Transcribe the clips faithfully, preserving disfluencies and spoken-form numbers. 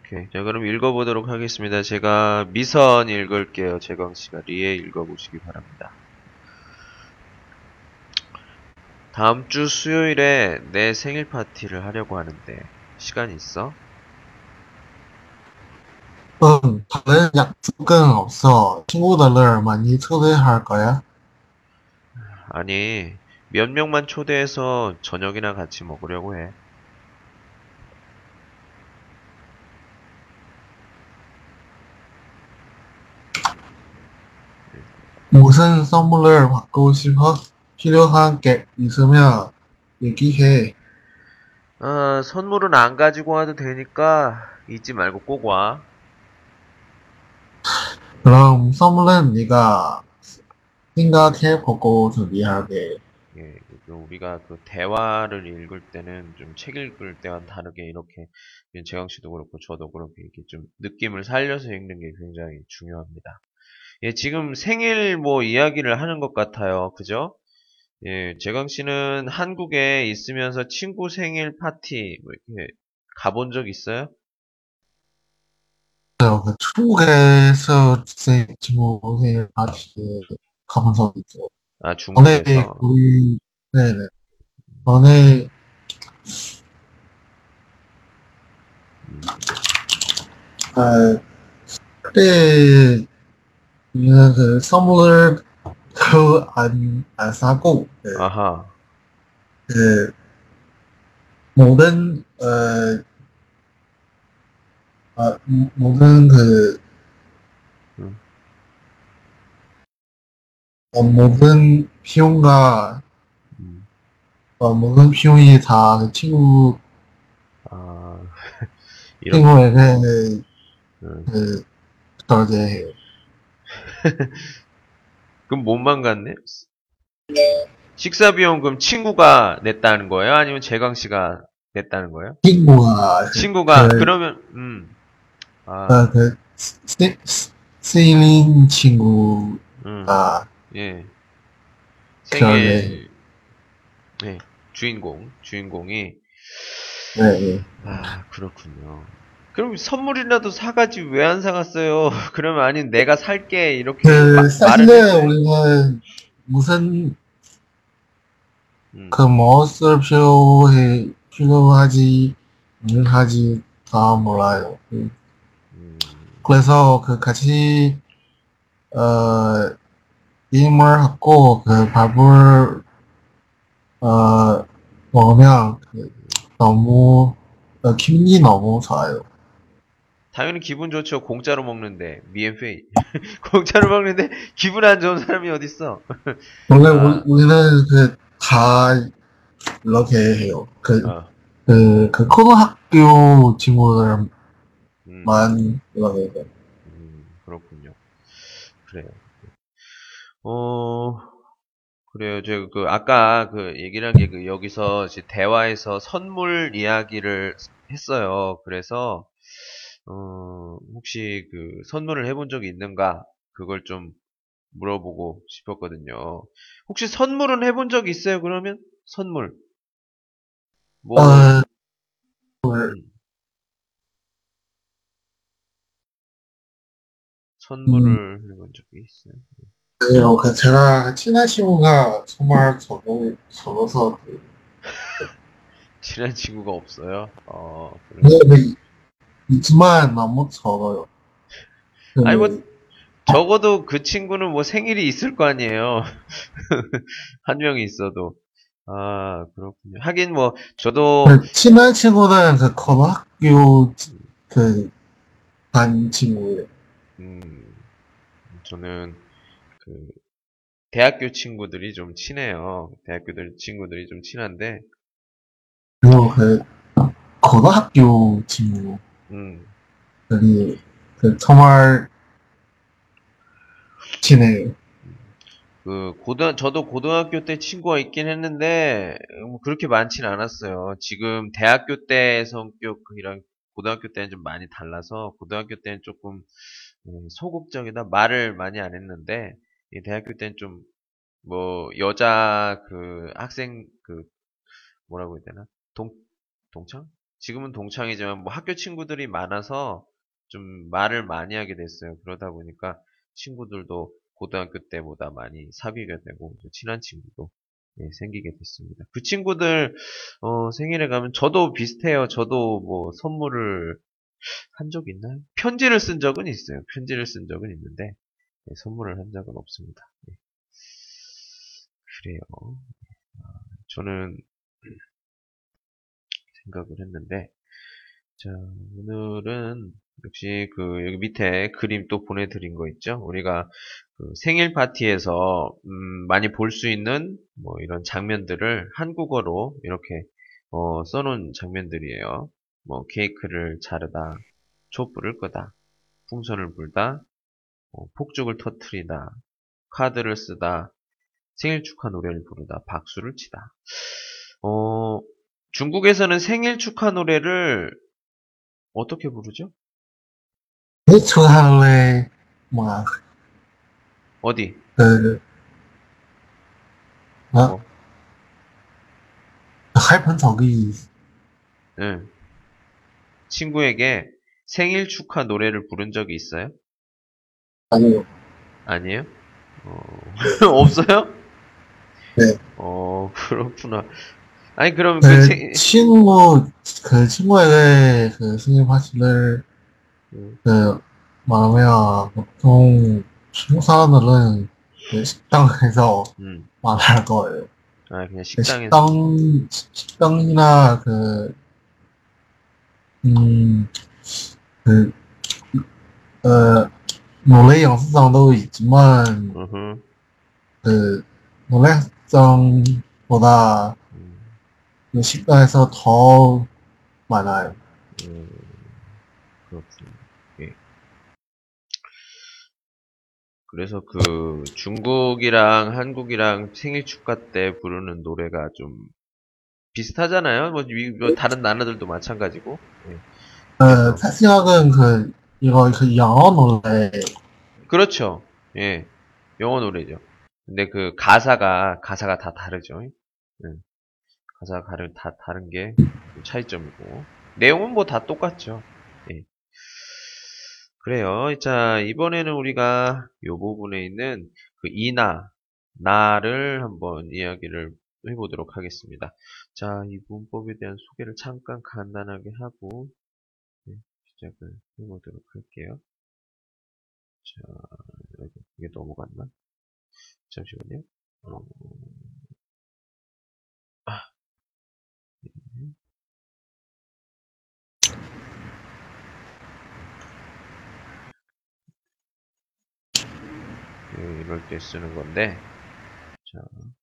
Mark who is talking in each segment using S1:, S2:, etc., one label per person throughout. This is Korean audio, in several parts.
S1: 오케이. 자, 그럼 읽어보도록 하겠습니다. 제가 미선 읽을게요. 재광씨가 리에 읽어보시기 바랍니다. 다음 주 수요일에 내 생일 파티를 하려고 하는데 시간 있어?
S2: 응, 다른 약속은 없어. 친구들을 많이 초대할 거야?
S1: 아니, 몇 명만 초대해서 저녁이나 같이 먹으려고 해.
S2: 무슨 선물을 받고 싶어? 필요한 게 있으면 얘기해.
S1: 아, 선물은 안 가지고 와도 되니까 잊지 말고 꼭 와.
S2: 그럼 선물은 네가 생각해보고 준비하게.
S1: 예, 그 우리가 그 대화를 읽을 때는 좀 책 읽을 때와는 다르게 이렇게 재광 씨도 그렇고 저도 그렇게 이렇게 좀 느낌을 살려서 읽는 게 굉장히 중요합니다. 예, 지금 생일 뭐 이야기를 하는 것 같아요. 그죠? 예, 재광 씨는 한국에 있으면서 친구 생일 파티 뭐 이렇게 가본 적 있어요?
S2: 그 중국에서 제 친구 생일 파티에 가본 적 있어.
S1: 아,
S2: 전에
S1: 중국에서.
S2: 우리, 네네. 전에,
S1: 음,
S2: 아, 그때 우리는 그 선물을 그 안, 안 사고, 그,
S1: 아하.
S2: 그 모든 어, 아, 모- 모든 그
S1: 음,
S2: 어, 모든 비용과
S1: 음,
S2: 어, 모든 비용이 다그 친구
S1: 아, 이런,
S2: 친구에게 그,
S1: 음.
S2: 그 저제해요.
S1: 그럼 몸만 갔네? 식사 비용 그럼 친구가 냈다는 거예요? 아니면 재광 씨가 냈다는 거예요?
S2: 친구가 그,
S1: 친구가
S2: 그,
S1: 그러면 음, 아,
S2: 어, 그 세, 세일인
S1: 음,
S2: 친구가
S1: 예,
S2: 저제
S1: 생일 예, 주인공 주인공이
S2: 네, 네.
S1: 아 그렇군요. 그럼 선물이라도 사가지 왜 안 사갔어요? 그러면 아니 내가 살게 이렇게 마,
S2: 그
S1: 말은
S2: 사실은
S1: 했어야지.
S2: 우리는 무슨
S1: 음,
S2: 그 무엇을 필요해 필요하지 하지 다 몰라요. 그
S1: 음,
S2: 그래서 그 같이 어 게임을 하고 그 밥을 어 먹으면 그 너무 어, 기분이 너무 좋아요.
S1: 당연히 기분 좋죠. 공짜로 먹는데 미엔페이 공짜로 먹는데 기분 안 좋은 사람이 어딨어?
S2: 원래 우리,
S1: 아,
S2: 우리는 그 다 이렇게 해요. 그
S1: 아,
S2: 그 그 고등학교 친구들만
S1: 음,
S2: 이렇게 해요.
S1: 음, 그렇군요. 그래요. 어, 그래요. 제가 그 아까 그 얘기를 한 게 그 여기서 이제 대화에서 선물 이야기를 했어요. 그래서 어, 혹시 그 선물을 해본 적이 있는가? 그걸 좀 물어보고 싶었거든요. 혹시 선물은 해본 적 있어요? 그러면 선물 뭐
S2: 어,
S1: 음,
S2: 음,
S1: 선물을 해본 적이 있어요.
S2: 그래요. 그 제가 친한 친구가 정말 저도 저로서 그
S1: 친한 친구가 없어요. 어,
S2: 네,
S1: 그러시구나.
S2: 네, 있지만 너무 적어요.
S1: 아니 뭐
S2: 그,
S1: 적어도 그 친구는 뭐 생일이 있을 거 아니에요. 한 명이 있어도. 아, 그렇군요. 하긴 뭐, 저도,
S2: 그 친한 친구는 그 고등학교 그 반 친구예요.
S1: 음, 저는 그, 대학교 친구들이 좀 친해요. 대학교들 친구들이 좀 친한데,
S2: 그리고 그 고등학교 친구들이
S1: 음,
S2: 그 정말 친해요.
S1: 그, 고등, 저도 고등학교 때 친구가 있긴 했는데, 뭐 그렇게 많진 않았어요. 지금 대학교 때 성격이랑 고등학교 때는 좀 많이 달라서, 고등학교 때는 조금, 음, 소극적이다 말을 많이 안 했는데, 이 대학교 때는 좀 뭐 여자 그 학생 그 뭐라고 해야 되나? 동 동창? 지금은 동창이지만 뭐 학교 친구들이 많아서 좀 말을 많이 하게 됐어요. 그러다 보니까 친구들도 고등학교 때보다 많이 사귀게 되고 친한 친구도 예, 생기게 됐습니다. 그 친구들 어, 생일에 가면 저도 비슷해요. 저도 뭐 선물을 한 적 있나요? 편지를 쓴 적은 있어요. 편지를 쓴 적은 있는데 예, 선물을 한 적은 없습니다. 예, 그래요. 저는 생각을 했는데 자, 오늘은 역시 그 여기 밑에 그림 또 보내드린 거 있죠? 우리가 그 생일 파티에서 음, 많이 볼 수 있는 뭐 이런 장면들을 한국어로 이렇게 어, 써놓은 장면들이에요. 뭐 케이크를 자르다, 촛불을 끄다, 풍선을 불다, 어, 폭죽을 터트리다, 카드를 쓰다, 생일 축하 노래를 부르다, 박수를 치다. 어, 중국에서는 생일 축하 노래를 어떻게 부르죠?
S2: Thế Xuân Hằng Lê mà
S1: 어디?
S2: 그, 어,
S1: 뭐?
S2: 할펀저기
S1: 응. 친구에게 생일 축하 노래를 부른 적이 있어요?
S2: 아니요.
S1: 아니에요? 어, 없어요?
S2: 네.
S1: 어, 그렇구나. 아니, 그럼 그
S2: 그
S1: 생,
S2: 친구, 그 친구에게 그 생일 파티를
S1: 음,
S2: 그 말하면 보통 중국 사람들은 그 식당에서
S1: 음.
S2: 말할 거예요.
S1: 아, 그냥
S2: 그
S1: 식당에서.
S2: 식당, 식당이나 그, 음, 그, 어, 노래 영수장도 있지만,
S1: 으흠,
S2: 그, 노래장보다
S1: 음,
S2: 그 식당에서 더 많아요.
S1: 음, 그렇군요. 예. 그래서 그 중국이랑 한국이랑 생일 축하 때 부르는 노래가 좀 비슷하잖아요. 뭐, 위- 뭐 다른 나라들도 마찬가지고. 예.
S2: 어,
S1: 그래서
S2: 제 생각은 그, 이거 그 영어 노래,
S1: 그렇죠. 예. 영어 노래죠. 근데 그 가사가 가사가 다 다르죠. 예. 가사가 다른 다 다른 게 차이점이고 내용은 뭐 다 똑같죠. 예. 그래요. 자, 이번에는 우리가 요 부분에 있는 그 이나 나를 한번 이야기를 해보도록 하겠습니다. 자, 이 문법에 대한 소개를 잠깐 간단하게 하고 예, 시작을 해보도록 할게요. 자, 여기 이게 넘어갔나? 잠시만요. 어, 아, 예, 이럴 때 쓰는 건데, 자,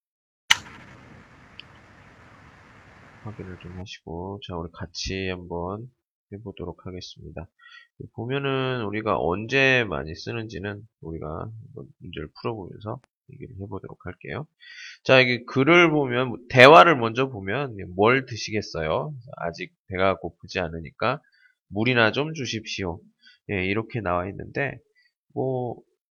S1: 확인을 좀 하시고, 자, 우리 같이 한번 해보도록 하겠습니다. 보면은 우리가 언제 많이 쓰는지는 우리가 한번 문제를 풀어보면서 얘기를 해보도록 할게요. 자, 이게 글을 보면, 대화를 먼저 보면 뭘 드시겠어요? 아직 배가 고프지 않으니까 물이나 좀 주십시오. 예, 이렇게 나와 있는데, 뭐,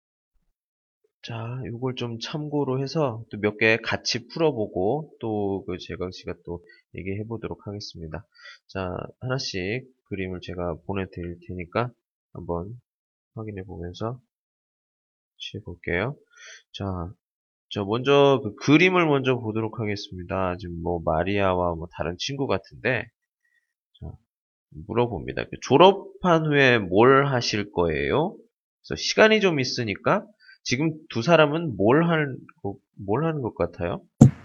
S1: 자, 이걸 좀 참고로 해서 또 몇 개 같이 풀어보고 또 그 재강 씨가 또 얘기해 보도록 하겠습니다. 자, 하나씩 그림을 제가 보내드릴 테니까 한번 확인해 보면서 시해 볼게요. 자, 저 먼저 그 그림을 먼저 보도록 하겠습니다. 지금 뭐 마리아와 뭐 다른 친구 같은데, 자, 물어봅니다. 그 졸업한 후에 뭘 하실 거예요? 그래서 시간이 좀 있으니까 지금 두 사람은 뭘 하는, 거- 뭘 하는 것 같아요?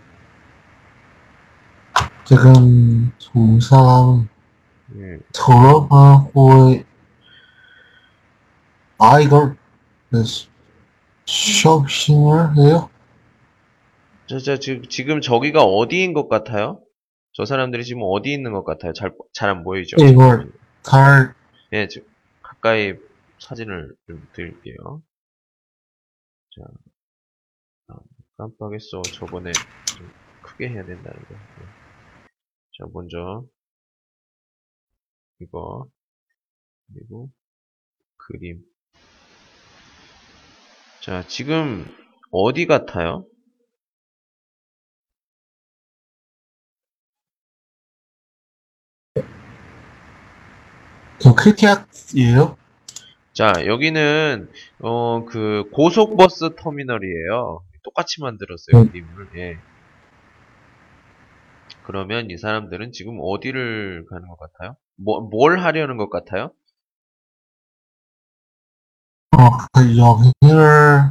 S2: 지금 두 사람
S1: 예.
S2: 졸업하고, 아, 이걸 그 쇼핑을 해요?
S1: 저, 저, 지금, 지금 저기가 어디인 것 같아요? 저 사람들이 지금 어디 있는 것 같아요? 잘, 잘 안 보이죠?
S2: 이걸 잘,
S1: 예, 지금 가까이 사진을 좀 드릴게요. 자, 아, 깜빡했어. 저번에 좀 크게 해야 된다는 거. 예. 자, 먼저 이거, 그리고 그림. 자, 지금 어디 같아요?
S2: 저 케이티엑스예요?
S1: 자, 여기는 어, 그 고속버스 터미널이에요. 똑같이 만들었어요,
S2: 네.
S1: 그림을. 예. 그러면 이 사람들은 지금 어디를 가는 것 같아요? 뭐, 뭘 하려는 것 같아요?
S2: 어, 그 여기를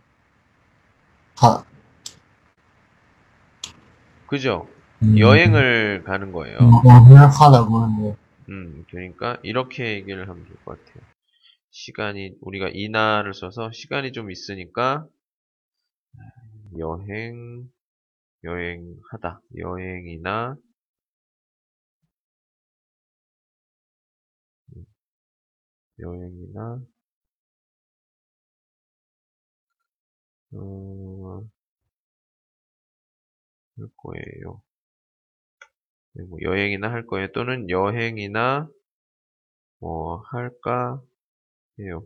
S2: 가,
S1: 그죠?
S2: 음,
S1: 여행을 가는 거예요.
S2: 여기를 가려고 하는데,
S1: 음, 그러니까 이렇게 얘기를 하면 좋을 것 같아요. 시간이, 우리가 이나를 써서 시간이 좀 있으니까 여행, 여행하다. 여행이나, 여행이나, 어, 할 거예요. 네, 뭐 여행이나 할 거예요. 또는 여행이나 뭐 할까 해요.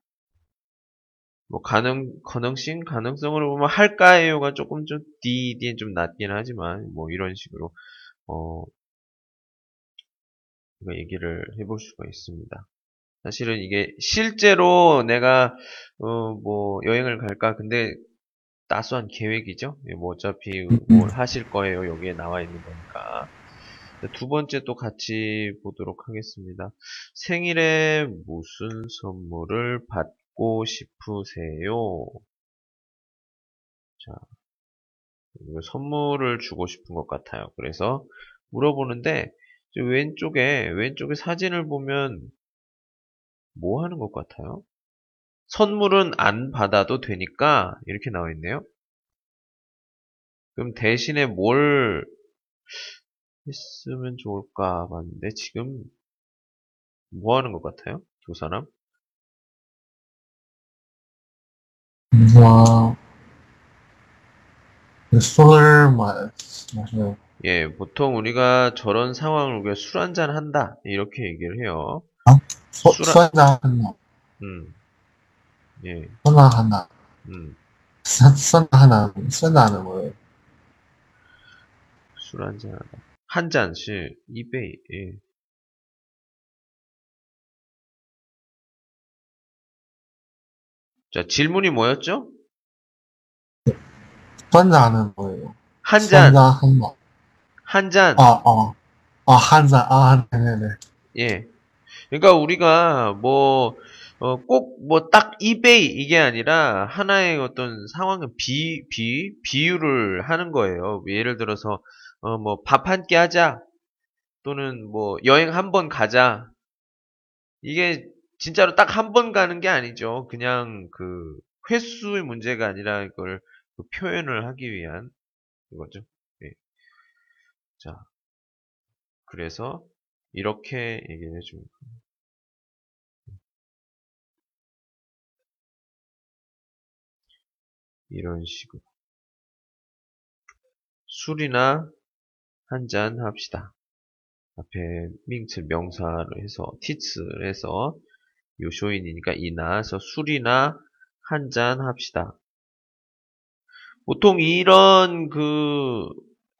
S1: 뭐 가능 가능성 가능성으로 보면 할까해요가 조금 좀 D D는 좀 낮긴 하지만 뭐 이런 식으로 어 우리가 얘기를 해볼 수가 있습니다. 사실은 이게 실제로 내가 어 뭐 여행을 갈까 근데 따스한 계획이죠. 예, 뭐 어차피
S2: 음,
S1: 뭘 하실 거예요. 여기에 나와 있는 거니까. 두 번째 또 같이 보도록 하겠습니다. 생일에 무슨 선물을 받고 싶으세요? 자, 이거 선물을 주고 싶은 것 같아요. 그래서 물어보는데 저 왼쪽에 왼쪽에 사진을 보면 뭐 하는 것 같아요? 선물은 안 받아도 되니까 이렇게 나와 있네요. 그럼 대신에 뭘 했으면 좋을까 봤는데 지금 뭐 하는 것 같아요? 두 사람?
S2: 와, 술을 마, 마셔요.
S1: 예, 보통 우리가 저런 상황을 우리가 술 한잔 한다 이렇게 얘기를 해요.
S2: 아, 소,
S1: 술, 한-
S2: 소다 하나,
S1: 음, 예,
S2: 소다 하나,
S1: 음,
S2: 소- 소다 하나, 소다는 뭐예요?
S1: 술 한잔 하다. 한 잔씩 이베이. 예. 자, 질문이 뭐였죠?
S2: 소다는 뭐예요?
S1: 한 잔,
S2: 소다 하나.
S1: 한
S2: 아,
S1: 잔.
S2: 어, 아, 한 잔, 아, 네네네.
S1: 예. 그러니까 우리가 뭐, 어, 꼭 뭐 딱 이베이 이게 아니라 하나의 어떤 상황을 비, 비, 비유를 하는 거예요. 예를 들어서, 어, 뭐 밥 한 끼 하자. 또는 뭐 여행 한 번 가자. 이게 진짜로 딱 한 번 가는 게 아니죠. 그냥 그 횟수의 문제가 아니라 이걸 그 표현을 하기 위한 이거죠. 예. 자, 그래서 이렇게 얘기를 해줍니다. 이런 식으로. 술이나 한 잔 합시다. 앞에 밍츠 명사를 해서 티츠를 해서 요쇼인이니까 이나서 술이나 한 잔 합시다. 보통 이런 그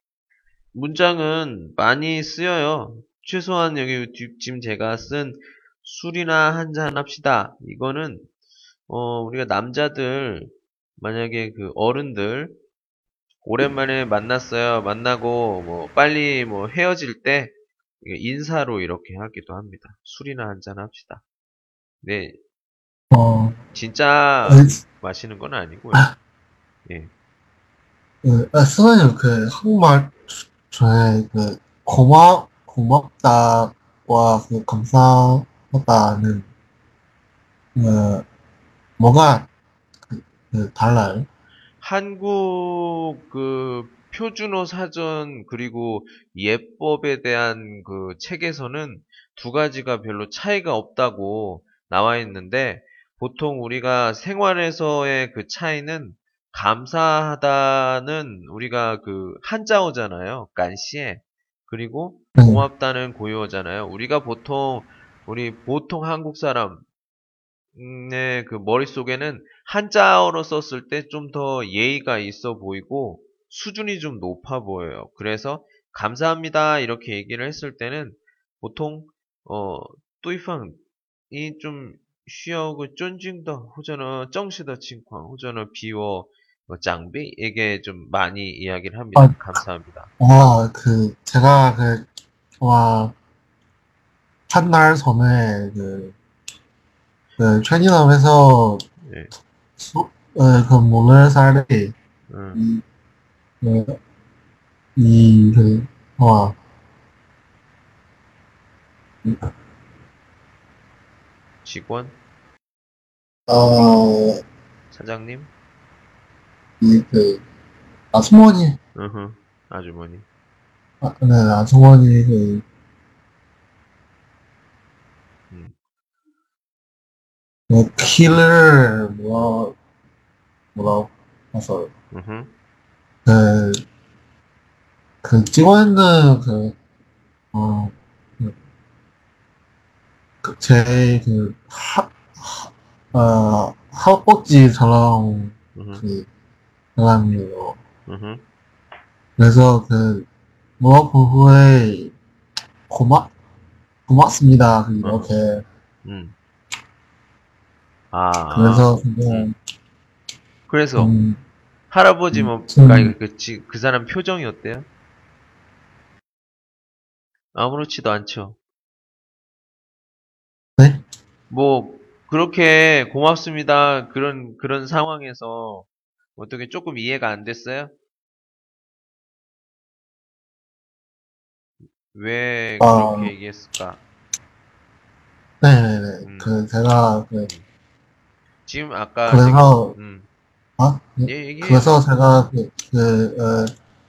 S1: 문장은 많이 쓰여요. 최소한 여기 뒤- 지금 제가 쓴 술이나 한잔 합시다. 이거는 어, 우리가 남자들 만약에 그 어른들 오랜만에 만났어요. 만나고 뭐 빨리 뭐 헤어질 때 이게 인사로 이렇게 하기도 합니다. 술이나 한잔 합시다. 네,
S2: 어,
S1: 진짜
S2: 에,
S1: 마시는 건 아니고요. 예.
S2: 그, 아, 선생님, 그, 한국말 중에 그, 고마, 고맙다와 그, 감사하다는, 그, 뭐가, 그, 그 달라요?
S1: 한국 그 표준어 사전 그리고 예법에 대한 그 책에서는 두 가지가 별로 차이가 없다고 나와 있는데 보통 우리가 생활에서의 그 차이는 감사하다는 우리가 그 한자어잖아요. 간시에. 그리고
S2: 네.
S1: 고맙다는 고유어잖아요. 우리가 보통 우리 보통 한국 사람 음, 네, 그 머릿속에는 한자어로 썼을 때 좀 더 예의가 있어 보이고 수준이 좀 높아 보여요. 그래서 감사합니다 이렇게 얘기를 했을 때는 보통 어 对方이 좀需要그尊敬的或者呢正式的情况或者呢比我뭐 장비에게 좀 많이 이야기를
S2: 아,
S1: 합니다. 감사합니다.
S2: 와, 그, 제가 그, 와, 한 달 전에 그, 그, 편의점에서
S1: 예,
S2: 수, 어, 그, 모래살이,
S1: 응,
S2: 이, 그, 이, 그, 와, 이,
S1: 직원,
S2: 어,
S1: 사장님,
S2: 이, 그, 아주머니,
S1: 으흠, 아주머니,
S2: 아, 네, 아주머니, 그,
S1: 음,
S2: 그, 키를, 뭐, 뭐라고 해서,
S1: 으흠,
S2: 그, 그, 찍어 있는, 그, 어, 그, 그 제, 그, 하, 어, 하우포지처럼,
S1: 으흠,
S2: 그, 사람이에요.
S1: 으흠,
S2: 그래서 그, 무엇 후에 고맙, 고맙습니다. 그
S1: 으흠,
S2: 이렇게.
S1: 음, 아,
S2: 그래서
S1: 음.
S2: 그냥
S1: 그래서
S2: 좀,
S1: 할아버지 뭐,
S2: 좀,
S1: 그러니까 그, 지- 그 사람 표정이 어때요? 아무렇지도 않죠.
S2: 네?
S1: 뭐 그렇게 고맙습니다. 그런 그런 상황에서 어떻게 조금 이해가 안 됐어요? 왜 그렇게
S2: 어,
S1: 얘기했을까?
S2: 네네네.
S1: 음,
S2: 그, 제가, 그,
S1: 음. 지금 아까 지금
S2: 그래서,
S1: 음,
S2: 아, 네.
S1: 예, 얘기해요.
S2: 그래서 제가 그, 그, 어,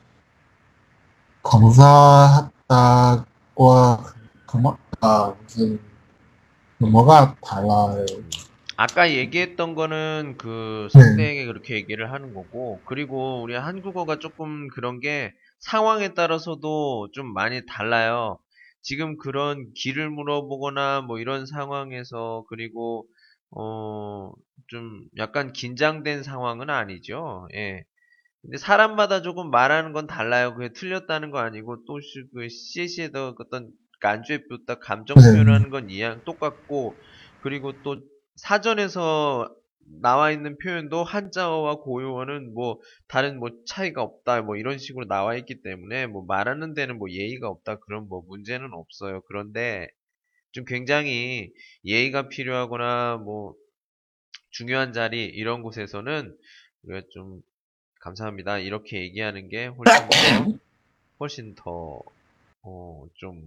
S2: 검사했다고, 고맙다. 무슨, 뭐가 달라요.
S1: 음. 아까 얘기했던 거는 그
S2: 네,
S1: 상대에게 그렇게 얘기를 하는 거고, 그리고 우리 한국어가 조금 그런 게 상황에 따라서도 좀 많이 달라요. 지금 그런 길을 물어보거나 뭐 이런 상황에서, 그리고 어, 좀 약간 긴장된 상황은 아니죠. 예. 근데 사람마다 조금 말하는 건 달라요. 그게 틀렸다는 거 아니고, 또 그 씨씨에도 어떤 간주에 다 감정
S2: 네,
S1: 표현하는 건 이양 똑같고, 그리고 또 사전에서 나와 있는 표현도 한자어와 고유어는 뭐 다른 뭐 차이가 없다 뭐 이런 식으로 나와 있기 때문에 뭐 말하는 데는 뭐 예의가 없다 그런 뭐 문제는 없어요. 그런데 좀 굉장히 예의가 필요하거나 뭐 중요한 자리 이런 곳에서는 우리가 좀 감사합니다. 이렇게 얘기하는 게 훨씬 더, 훨씬 더, 어, 좀,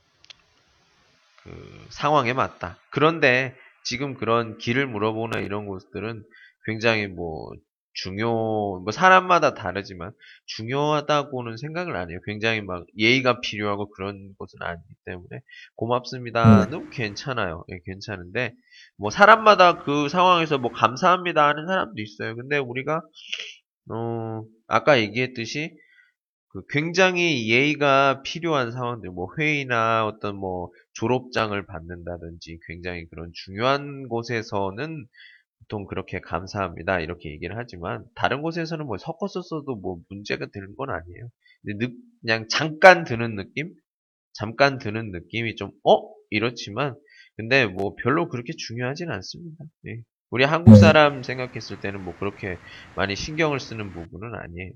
S1: 그, 상황에 맞다. 그런데 지금 그런 길을 물어보는 이런 곳들은 굉장히 뭐, 중요, 뭐, 사람마다 다르지만 중요하다고는 생각을 안 해요. 굉장히 막 예의가 필요하고 그런 곳은 아니기 때문에
S2: 네,
S1: 고맙습니다는 괜찮아요. 예, 괜찮은데, 뭐, 사람마다 그 상황에서 뭐, 감사합니다 하는 사람도 있어요. 근데 우리가, 어, 아까 얘기했듯이 그 굉장히 예의가 필요한 상황들, 뭐 회의나 어떤 뭐 졸업장을 받는다든지 굉장히 그런 중요한 곳에서는 보통 그렇게 감사합니다. 이렇게 얘기를 하지만 다른 곳에서는 뭐 섞어서 써도 뭐 문제가 되는 건 아니에요. 근데 느- 그냥 잠깐 드는 느낌? 잠깐 드는 느낌이 좀, 어? 이렇지만 근데 뭐 별로 그렇게 중요하진 않습니다. 예. 우리 한국
S2: 네.
S1: 사람 생각했을 때는 뭐 그렇게 많이 신경을 쓰는 부분은 아니에요.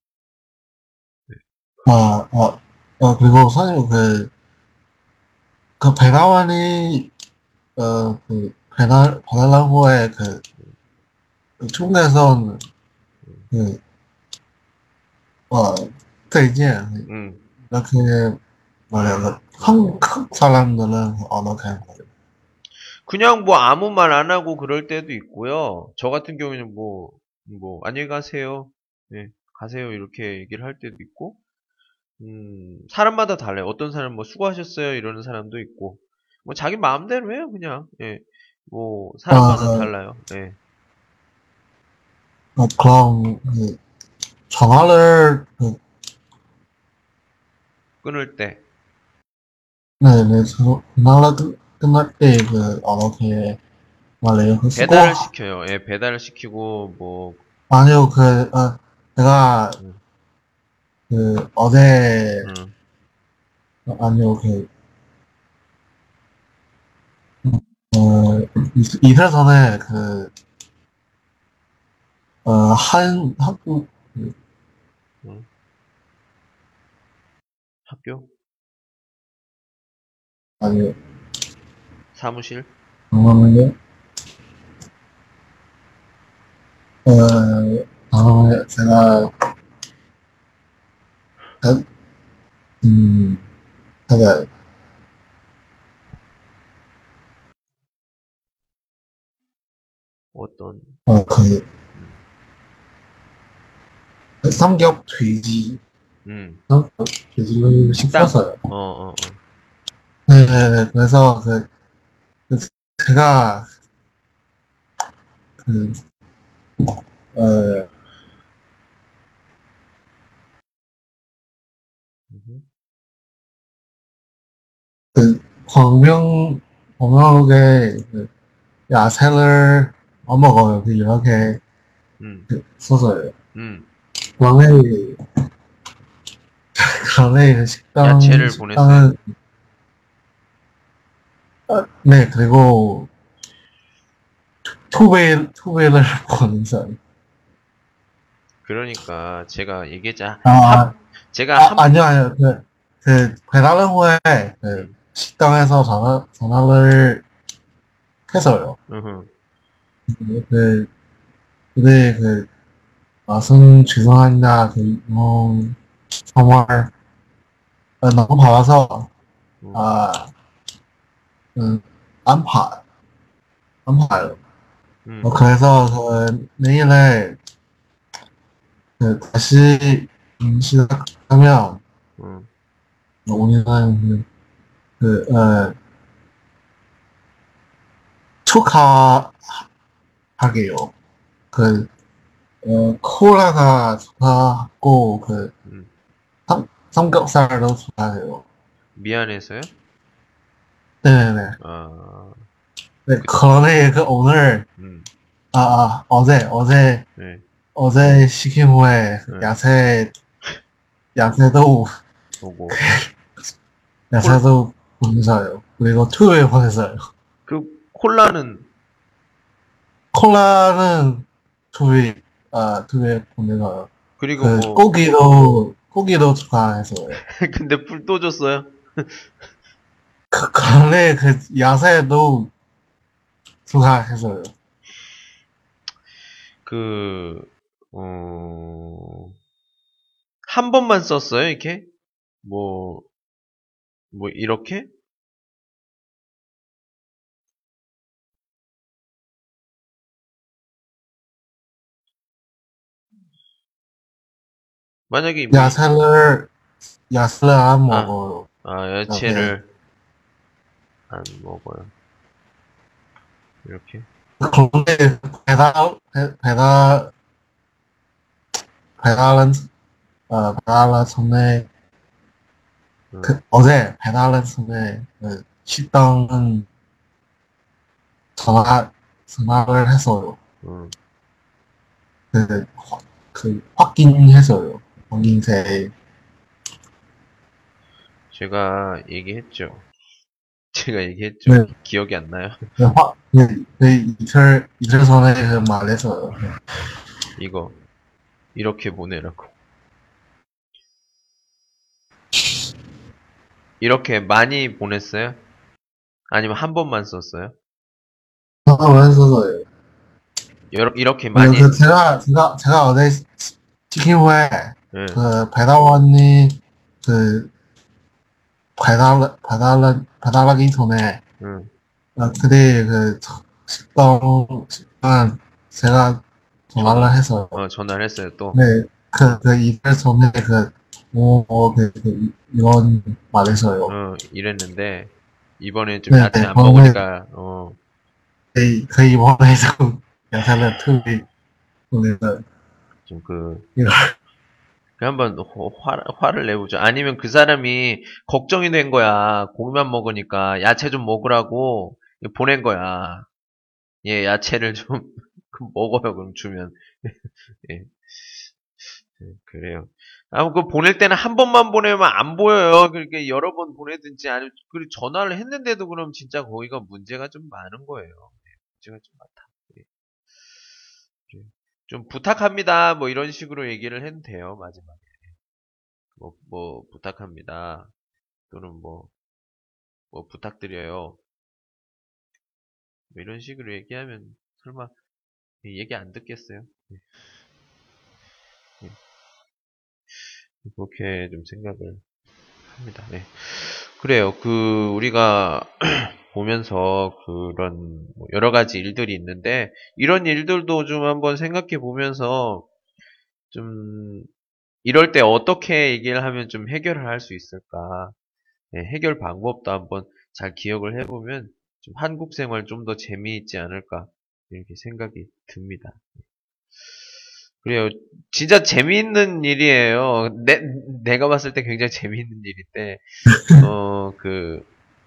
S2: 아, 아, 어, 그리고 사실 그, 그 배가완이, 어, 그, 배달, 배달랑호의 그, 그 중국에서는 그, 어, 再见
S1: 음.
S2: 이렇게 말해요. 그 한국 사람들은 어떻게 말해요?
S1: 그냥 뭐 아무 말 안 하고 그럴 때도 있고요. 저 같은 경우에는 뭐, 뭐, 안녕히 가세요. 네, 가세요. 이렇게 얘기를 할 때도 있고, 음, 사람마다 달라요. 어떤 사람은 뭐 수고하셨어요. 이러는 사람도 있고, 뭐 자기 마음대로 해요. 그냥, 예. 뭐, 사람마다
S2: 아,
S1: 달라요. 예.
S2: 어, 그럼 그 전화를 그,
S1: 끊을 때,
S2: 네, 네, 저- 전화를 끝- 끝날 때그 어떻게 말해요? 그 수고
S1: 배달을 시켜요. 예, 배달을 시키고, 뭐,
S2: 아니요 그 어, 제가
S1: 음,
S2: 그 어제
S1: 음,
S2: 아니요 그 이- 이틀 전에 그, 어, 한, 한국, 그,
S1: 응? 학교?
S2: 아니,
S1: 사무실?
S2: 잠깐만요. 어, 잠깐만요. 제가, 가- 음, 제가,
S1: 어떤,
S2: 어, 그,
S1: 음,
S2: 삼겹 돼지,
S1: 음,
S2: 삼겹 돼지를
S1: 식당?
S2: 시켰어요.
S1: 어, 어, 어.
S2: 네네네. 그래서 그, 그 제가, 그, 어,
S1: 음,
S2: 그, 광명, 광명에 그 야채를 안 먹어요. 그 이렇게
S1: 음,
S2: 그 써서요.
S1: 음.
S2: 그런데, 그런데 그 식당,
S1: 야채를 보냈어요?
S2: 식당은, 아, 네, 그리고 투베일, 투베일을 보내서요.
S1: 그러니까 제가 얘기했자 한
S2: 아,
S1: 제가
S2: 아,
S1: 한
S2: 아니요, 아니요. 그, 그, 배달 후에, 그,
S1: 음,
S2: 식당에서 전화, 전화를 해서요.
S1: 으흠,
S2: 그, 근데 그, 맛은 죄송합니다. 그, 뭐, 정말, 어, 너무 받아서,
S1: 음,
S2: 아, 음, 안 파, 안 파요. 어,
S1: 음,
S2: 그래서, 그, 내일에, 그, 다시, 음, 시작하면,
S1: 음,
S2: 우리는, 그, 그, 어, 축하하게요. 그, 어, 콜라가 축하하고, 그,
S1: 음.
S2: 삼, 삼겹살도 축하해요.
S1: 미안해서요?
S2: 네네네.
S1: 아,
S2: 네,
S1: 그,
S2: 그런데 그 오늘,
S1: 음,
S2: 아, 아, 어제, 어제,
S1: 네,
S2: 어제 시킨 후에 그
S1: 네,
S2: 야채, 야채도,
S1: 보고 콜,
S2: 야채도 보내서요. 그리고 투에 보내서요.
S1: 그 콜라는
S2: 콜라는 투에, 아, 투에 보내서요.
S1: 그리고
S2: 그
S1: 뭐
S2: 고기도, 고기도 추가해서요.
S1: 근데 불 또 줬어요?
S2: 그, 그런데 그 야채도 추가해서요.
S1: 그, 어, 한 번만 썼어요, 이렇게? 뭐, 뭐, 이렇게? 만약에 뭐, 이-
S2: 야채를, 야채를 안
S1: 아,
S2: 먹어요.
S1: 아,
S2: 이렇게.
S1: 야채를 안 먹어요. 이렇게?
S2: 그런데 배달, 배- 배달, 배달은, 어, 배달은 전에,
S1: 응,
S2: 그, 어제 배달은 전에, 그, 식당은 전화, 전화를 해서요.
S1: 응.
S2: 그, 확- 그, 확인해서요. 확인세.
S1: 제가 얘기했죠. 제가 얘기했죠.
S2: 네,
S1: 기, 기억이 안 나요?
S2: 그, 확, 그, 그 이틀, 이틀 전에 그 말해서요.
S1: 이거, 이렇게 보내라고. 이렇게 많이 보냈어요? 아니면 한 번만 썼어요?
S2: 전화를 해서요.
S1: 여러, 이렇게
S2: 그,
S1: 많이,
S2: 그, 제가, 제가, 제가 어제 시- 시킨 후에,
S1: 응,
S2: 그, 배달원이, 그, 배달, 배달, 배달하기 전에,
S1: 응,
S2: 아, 그때 그 식당, 식당 제가 전화를
S1: 전화,
S2: 해서,
S1: 어, 전화를 했어요, 또.
S2: 네, 그, 그 이달 전에 그, 뭐, 뭐, 그, 그, 이런 말해서요.
S1: 어, 이랬는데, 이번에 좀
S2: 네,
S1: 야채 안
S2: 저는
S1: 먹으니까, 어,
S2: 그, 그 이번에 좀 야사를 투비 보내서,
S1: 좀 그,
S2: 이거,
S1: 그 한번 호- 화, 화를 내보죠. 아니면 그 사람이 걱정이 된 거야. 고기만 먹으니까 야채 좀 먹으라고 보낸 거야. 예, 야채를 좀 먹어요. 그럼 주면. 예, 예, 그래요. 아, 그 보낼 때는 한 번만 보내면 안 보여요. 그렇게 여러 번 보내든지 아니면 그리고 전화를 했는데도 그럼 진짜 거기가 문제가 좀 많은 거예요. 문제가 좀 많다. 예. 예. 좀 부탁합니다. 뭐 이런 식으로 얘기를 해도 돼요. 마지막에. 뭐, 뭐 부탁합니다. 또는 뭐, 뭐 부탁드려요. 뭐 이런 식으로 얘기하면 설마 얘기 안 듣겠어요? 예. 예. 그렇게 좀 생각을 합니다. 네. 그래요. 그 우리가 보면서 그런 뭐 여러 가지 일들이 있는데 이런 일들도 좀 한번 생각해 보면서 좀 이럴 때 어떻게 얘기를 하면 좀 해결을 할 수 있을까? 네, 해결 방법도 한번 잘 기억을 해보면 좀 한국 생활 좀 더 재미있지 않을까 이렇게 생각이 듭니다. 그래요. 진짜 재미있는 일이에요. 내, 내가 봤을 때 굉장히 재미있는 일인데, 어, 그,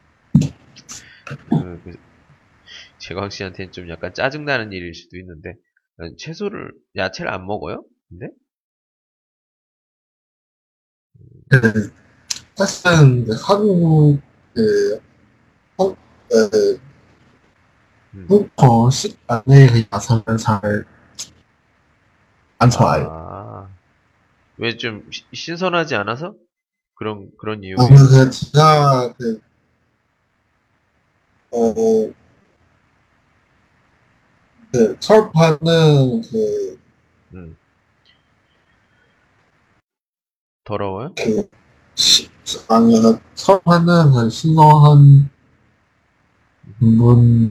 S1: 그, 그 재광 씨한테는 좀 약간 짜증나는 일일 수도 있는데, 어, 채소를, 야채를 안 먹어요? 근데?
S2: 그, 사실은 그 한국, 그, 한, 어,
S1: 음.
S2: 한국어 식안에 그 야채를 잘 안 좋아해요.
S1: 아, 왜 좀 신선하지 않아서? 그런, 그런
S2: 어,
S1: 이유예요?
S2: 그, 제가, 그, 어, 그, 철파는 그,
S1: 음. 더러워요?
S2: 그, 시, 아니, 그 철파는 그 신선한 부분,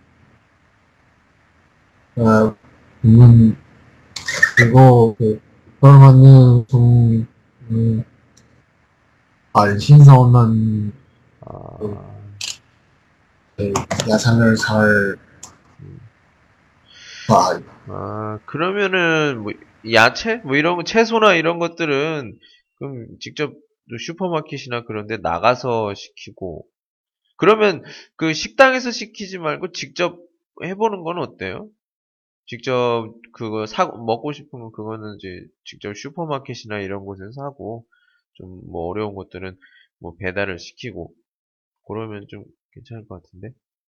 S2: 어, 부분, 그리고 그, 철파는 좀, 음, 안 신선한 그,
S1: 아,
S2: 그 야채를 잘
S1: 음.
S2: 좋아해요.
S1: 아, 그러면은, 뭐, 야채? 뭐 이런, 거, 채소나 이런 것들은, 그럼 직접 슈퍼마켓이나 그런 데 나가서 시키고, 그러면 그 식당에서 시키지 말고 직접 해보는 건 어때요? 직접 그거 사, 먹고 싶으면 그거는 이제 직접 슈퍼마켓이나 이런 곳에서 사고, 좀 뭐 어려운 것들은 뭐 배달을 시키고, 그러면 좀 괜찮을 것 같은데?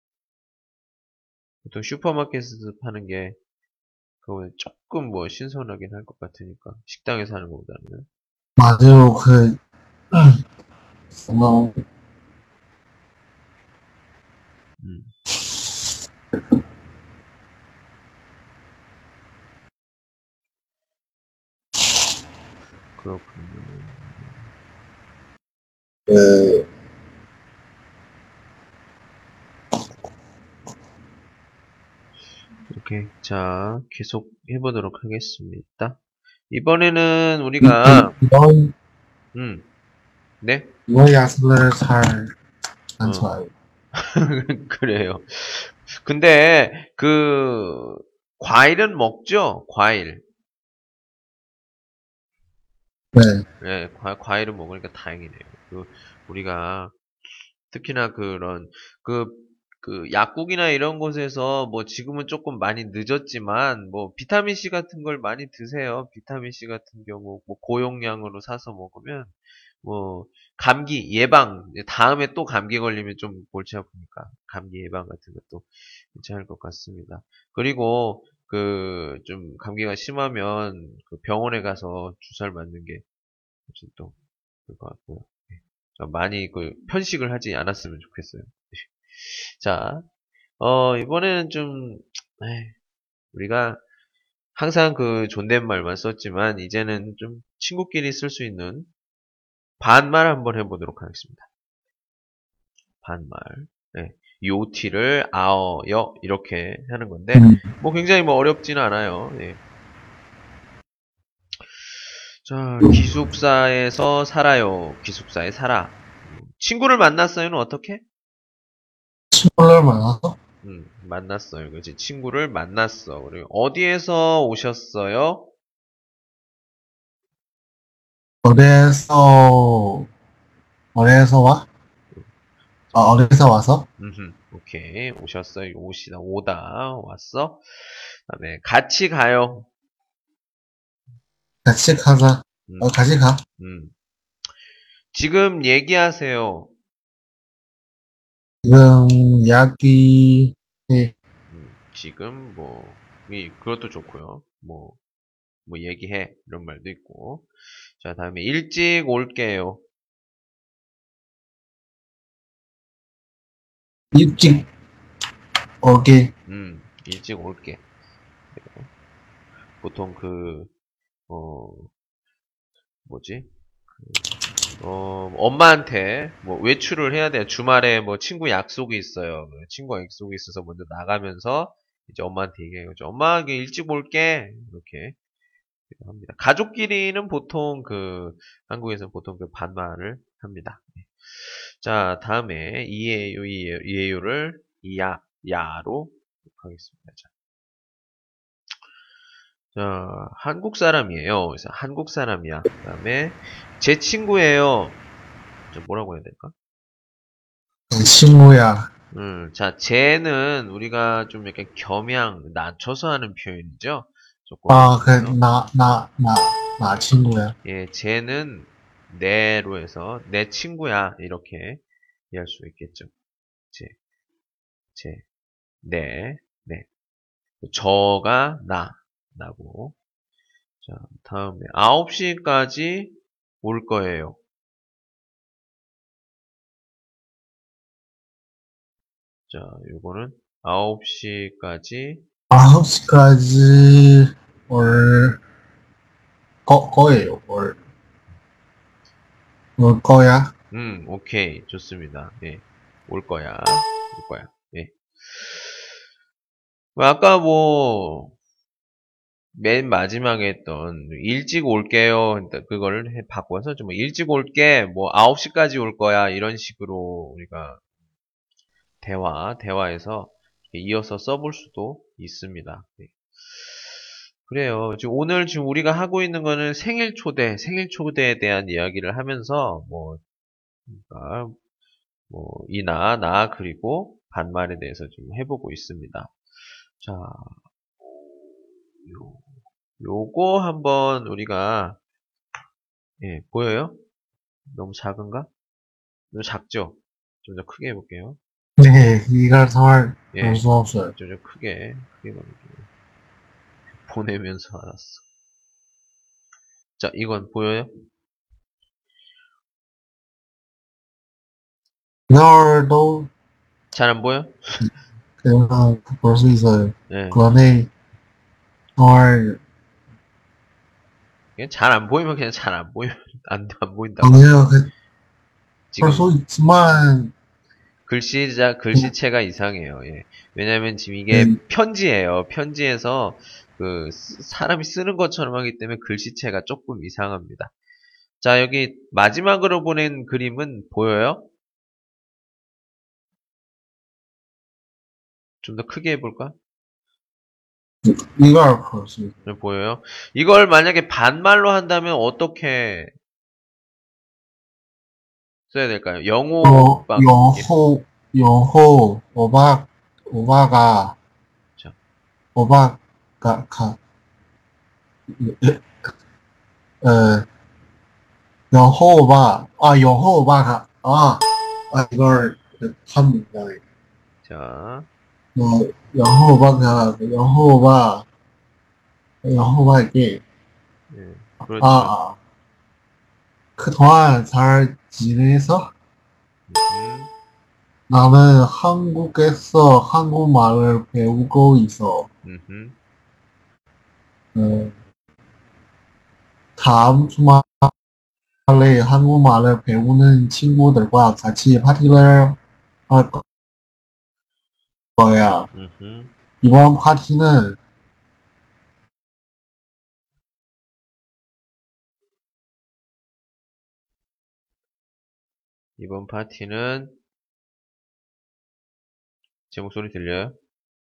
S1: 보통 슈퍼마켓에서 파는 게, 그거는 조금 뭐 신선하긴 할 것 같으니까, 식당에서 하는 것보다는.
S2: 맞아요. 그, 정말,
S1: 음, 그렇군요.
S2: 그,
S1: 오케이. 자, 계속 해보도록 하겠습니다. 이번에는
S2: 이,
S1: 우리가,
S2: 이런,
S1: 음, 네?
S2: 이런 야채를 잘 안
S1: 어,
S2: 좋아해요.
S1: 그래요. 근데, 그, 과일은 먹죠? 과일.
S2: 네.
S1: 네, 과, 과일은 먹으니까 다행이네요. 그, 우리가, 특히나 그런, 그, 그, 약국이나 이런 곳에서, 뭐, 지금은 조금 많이 늦었지만, 뭐, 비타민C 같은 걸 많이 드세요. 비타민C 같은 경우, 뭐, 고용량으로 사서 먹으면, 뭐, 감기 예방, 다음에 또 감기 걸리면 좀 골치 아프니까, 감기 예방 같은 것도 괜찮을 것 같습니다. 그리고, 그, 좀, 감기가 심하면, 그 병원에 가서 주사를 맞는 게, 훨씬 또, 그럴 것 같고요. 자, 많이 그, 편식을 하지 않았으면 좋겠어요. 자, 어, 이번에는 좀, 에이, 우리가 항상 그 존댓말만 썼지만, 이제는 좀 친구끼리 쓸 수 있는 반말 한번 해보도록 하겠습니다. 반말. 네. 요티를 아어여 이렇게 하는 건데
S2: 음,
S1: 뭐 굉장히 뭐 어렵지는 않아요. 네. 자, 기숙사에서 살아요. 기숙사에 살아. 친구를 만났어요는 어떻게?
S2: 친구를 만나서
S1: 음, 만났어요. 그렇지. 친구를 만났어. 그리고 어디에서 오셨어요?
S2: 어디에서 어디에서 와? 아,
S1: 자,
S2: 어디에서 와서
S1: 음흠, 오케이. 오셨어요. 오시다, 오다. 왔어. 그다음에 같이 가요.
S2: 같이 가자. 어,
S1: 음,
S2: 같이 가.
S1: 음. 지금 얘기하세요.
S2: 지금 이야기 해.
S1: 음. 지금 뭐 이, 그것도 좋고요. 뭐, 뭐 얘기해 이런 말도 있고. 자, 다음에 일찍 올게요.
S2: 일찍 오게.
S1: 음, 일찍 올게. 보통 그, 어, 뭐지? 어, 엄마한테 뭐 외출을 해야 돼요. 주말에 뭐 친구 약속이 있어요. 친구 약속이 있어서 먼저 나가면서 이제 엄마한테 얘기해요. 엄마, 이게 일찍 올게. 이렇게 합니다. 가족끼리는 보통 그, 한국에서 보통 그 반말을 합니다. 자, 다음에 이에요, 이에요, 이에요를 이야, 야로 하겠습니다. 자, 자, 한국 사람이에요. 그래서 한국 사람이야. 그 다음에 제 친구예요. 자, 뭐라고 해야 될까?
S2: 친구야.
S1: 음, 자, 쟤는 우리가 좀 약간 겸양, 낮춰서 하는 표현이죠? 조금
S2: 아, 그,
S1: 한국에서.
S2: 나, 나, 나, 나 친구야.
S1: 예, 쟤는 내로 해서 내 친구야. 이렇게 이해할 수 있겠죠. 쟤, 쟤, 내, 네. 저가 나, 나고. 자, 다음에 아홉 시까지 올 거예요. 자, 요거는 아홉 시까지,
S2: 아홉 시까지 올, 거, 거예요, 올. 올 거야?
S1: 음, 오케이. 좋습니다. 예. 올 거야. 올 거야. 예. 뭐 아까 뭐, 맨 마지막에 했던, 일찍 올게요. 그러니까 그거를 해, 바꿔서 좀 일찍 올게. 뭐, 아홉 시까지 올 거야. 이런 식으로 우리가 대화, 대화에서 이어서 써볼 수도 있습니다. 네. 그래요. 지금 오늘 지금 우리가 하고 있는 거는 생일 초대, 생일 초대에 대한 이야기를 하면서, 뭐, 그러니까 뭐, 이나, 나, 그리고 반말에 대해서 좀 해보고 있습니다. 자, 요, 요거 한번 우리가, 예, 보여요? 너무 작은가? 너무 작죠? 좀 더 크게 해볼게요.
S2: 네, 이걸 정말 볼
S1: 예,
S2: 수 없어요.
S1: 좀 더 크게, 크게 보낼게요. 보내면서 알았어. 자, 이건 보여요?
S2: 이걸도
S1: 잘 안 보여?
S2: 그냥 볼 수 있어요.
S1: 예.
S2: 그 안에 정말
S1: 그냥 잘 안 보이면 그냥 잘 안 보이면 안, 안 보인다고 하면
S2: 아니요, 그, 볼
S1: 지금
S2: 수 있지만,
S1: 글씨자,
S2: 그,
S1: 글씨체가 이상해요. 예. 왜냐면 지금 이게
S2: 그,
S1: 편지예요. 편지에서 그 쓰- 사람이 쓰는 것처럼 하기 때문에 글씨체가 조금 이상합니다. 자, 여기 마지막으로 보낸 그림은 보여요? 좀 더 크게 해볼까?
S2: 이걸 볼 수 있어요.
S1: 네, 보여요? 이걸 만약에 반말로 한다면 어떻게 써야 될까요?
S2: 요,
S1: 영호박님.
S2: 요호, 요호, 오박, 오바가,
S1: 자,
S2: 오바가, 가, 에, 여호와, 아, 여호와가, 아, 아, 이걸 합니다.
S1: 자,
S2: 뭐, 여호와가, 여호와, 여호와에게,
S1: 예,
S2: 아,
S1: 그렇죠.
S2: 아, 그동안 잘 지내서
S1: 음,
S2: 나는 한국에서 한국말을 배우고 있어.
S1: 음, 음.
S2: 어, 다음 주말에 한국말을 배우는 친구들과 같이 파티를 할 거야.
S1: 음흠.
S2: 이번 파티는
S1: 이번 파티는 제 목소리 들려요?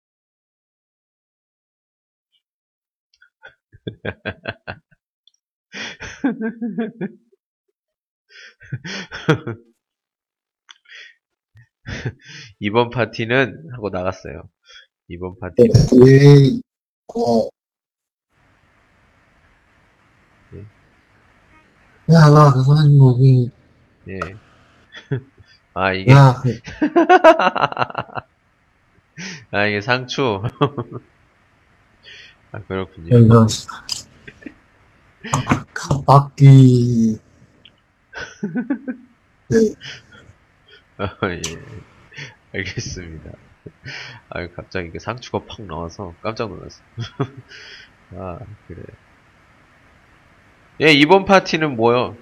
S1: 이번 파티는 하고 나갔어요. 이번 파티는
S2: 왜, 어,
S1: 예,
S2: 야, 나 그 선생님이,
S1: 예. 아 이게
S2: 야, 그,
S1: 아, 이게 상추. 아, 그렇군요.
S2: 이런 깜빡이 네,
S1: 아, 예. 알겠습니다. 아, 갑자기 그 상추가 팍 나와서 깜짝 놀랐어. 아, 그래. 예, 이번 파티는 뭐요?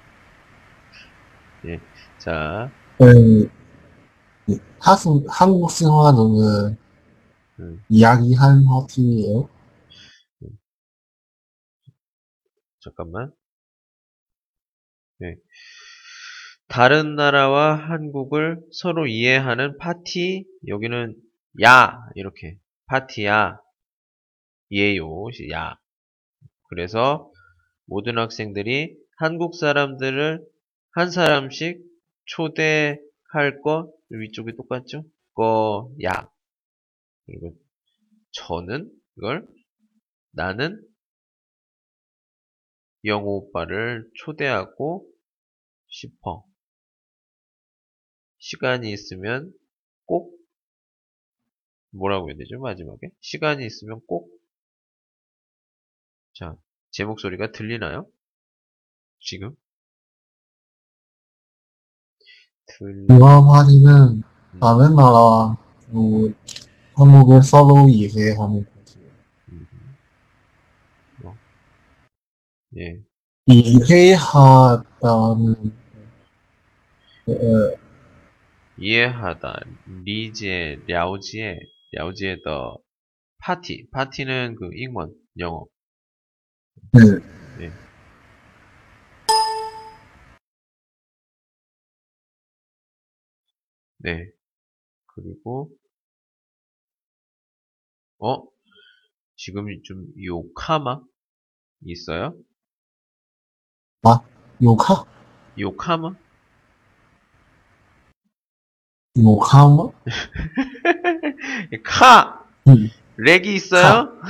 S1: 예, 자,
S2: 네, 한국 한국 생활은
S1: 음,
S2: 이야기하는 파티예요.
S1: 음, 잠깐만. 예. 다른 나라와 한국을 서로 이해하는 파티, 여기는 야, 이렇게. 파티야, 이에요, 야. 그래서 모든 학생들이 한국 사람들을 한 사람씩 초대할 것, 위쪽이 똑같죠? 거야. 그리고 저는 이걸 나는 영호 오빠를 초대하고 싶어. 시간이 있으면 꼭 뭐라고 해야 되죠? 마지막에 시간이 있으면 꼭 자, 제 목소리가 들리나요? 지금? 들,
S2: 이번 파티는
S1: 음,
S2: 다른 나라와 그 한국을 서로 이해하는 파티예요.
S1: 음, 어, 예,
S2: 이해하다는 어,
S1: 이해하다, 리지에, 랴오지에, 랴오지에 더 파티, 파티는 그英원, 영어,
S2: 네,
S1: 예, 네, 그리고 어, 지금 좀 요카마 있어요?
S2: 아, 요카?
S1: 요카마?
S2: 요카마?
S1: 카!
S2: 음,
S1: 렉이
S2: 카.
S1: 있어요?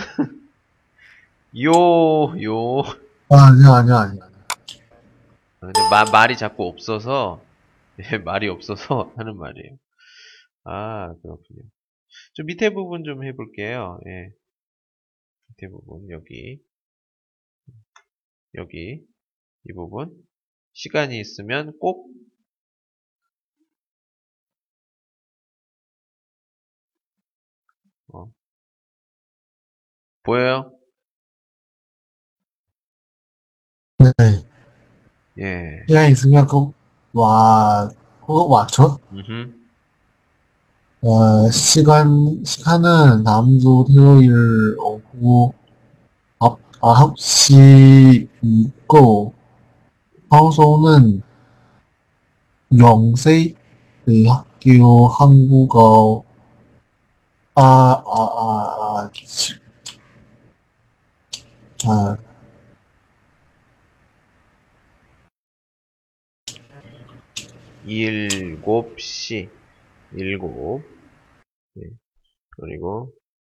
S1: 요, 요.
S2: 아, 아니야, 아니야, 아니야.
S1: 아, 근데 마, 말이 자꾸 없어서, 예, 말이 없어서 하는 말이에요. 아, 그렇군요. 좀 밑에 부분 좀 해볼게요. 예, 밑에 부분, 여기, 여기, 이 부분. 시간이 있으면 꼭, 어, 보여요?
S2: 네.
S1: 예,
S2: 시간 있으면 꼭 와, 꼭 맞춰?
S1: 음흠.
S2: 어, 시간, 시간은 다음 주 토요일 오후 아, 아홉 시이고, 방송은 영세 대학교 한국어, 아, 아, 아, 아, 아,
S1: 일곱 시, 일곱, 예, 그리고,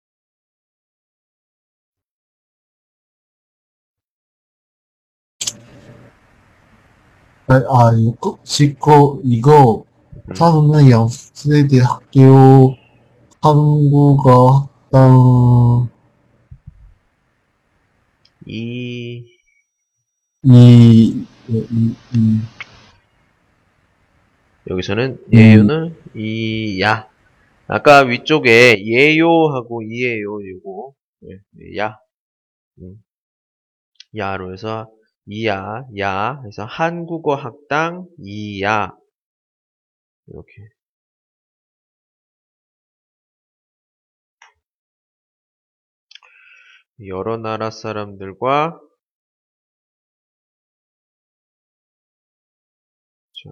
S2: 아, 아, 이거, 이거, 이거,
S1: 음,
S2: 사는 영세 대학교 한국어 학당,
S1: 이,
S2: 이, 이, 이,
S1: 여기서는
S2: 이,
S1: 예요는 이, 야. 아까 위쪽에 예요하고 이에요, 요거. 예, 야. 음, 야로 해서 이야, 야. 해서 한국어 학당 이야. 이렇게. 여러 나라 사람들과, 자,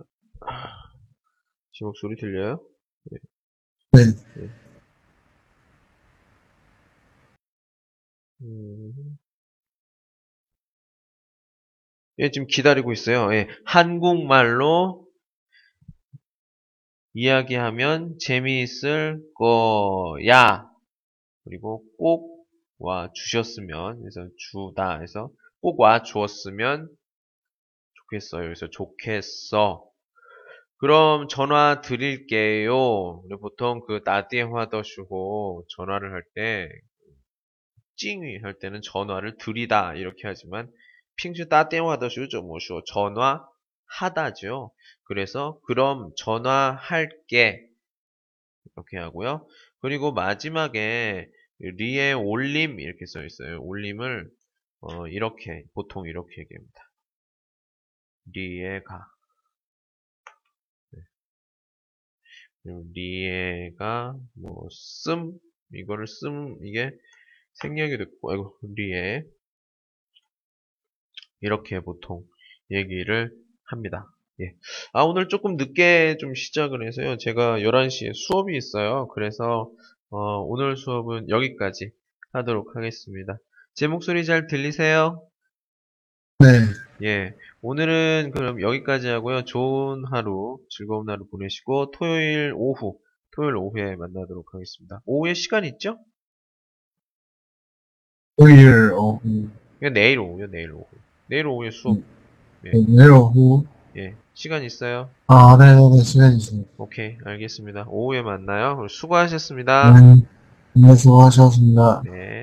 S1: 제 목소리 들려요? 네,
S2: 네,
S1: 네. 음, 예, 지금 기다리고 있어요. 예, 한국말로 이야기하면 재미있을 거야. 그리고 꼭 와 주셨으면, 그래서 주다 해서 꼭 와 주었으면 좋겠어요. 그래서 좋겠어. 그럼 전화 드릴게요. 우리 보통 그 나디에화더슈고 전화를 할 때, 찡이 할 때는 전화를 드리다 이렇게 하지만 핑주 따電話的时候좀 뭐쇼 전화하다죠. 그래서 그럼 전화할게 이렇게 하고요. 그리고 마지막에 리에 올림 이렇게 써 있어요. 올림을 어, 이렇게 보통 이렇게 얘기합니다. 리에 가. 그리고 리에가 뭐 씀 이거를 씀 이게 생략이 됐고 아이고 리에 이렇게 보통 얘기를 합니다. 예. 아, 오늘 조금 늦게 좀 시작을 해서요. 제가 열한 시에 수업이 있어요. 그래서, 어, 오늘 수업은 여기까지 하도록 하겠습니다. 제 목소리 잘 들리세요?
S2: 네,
S1: 예. 오늘은 그럼 여기까지 하고요. 좋은 하루, 즐거운 하루 보내시고, 토요일 오후, 토요일 오후에 만나도록 하겠습니다. 오후에 시간 있죠?
S2: 토요일 오후,
S1: 그냥 내일 오후요, 내일 오후. 내일 오후에 수업,
S2: 음,
S1: 예.
S2: 내일 오후,
S1: 예. 시간 있어요?
S2: 아, 네네네, 시간 있습니다.
S1: 오케이, 알겠습니다. 오후에 만나요. 수고하셨습니다.
S2: 네, 네, 수고하셨습니다.
S1: 네.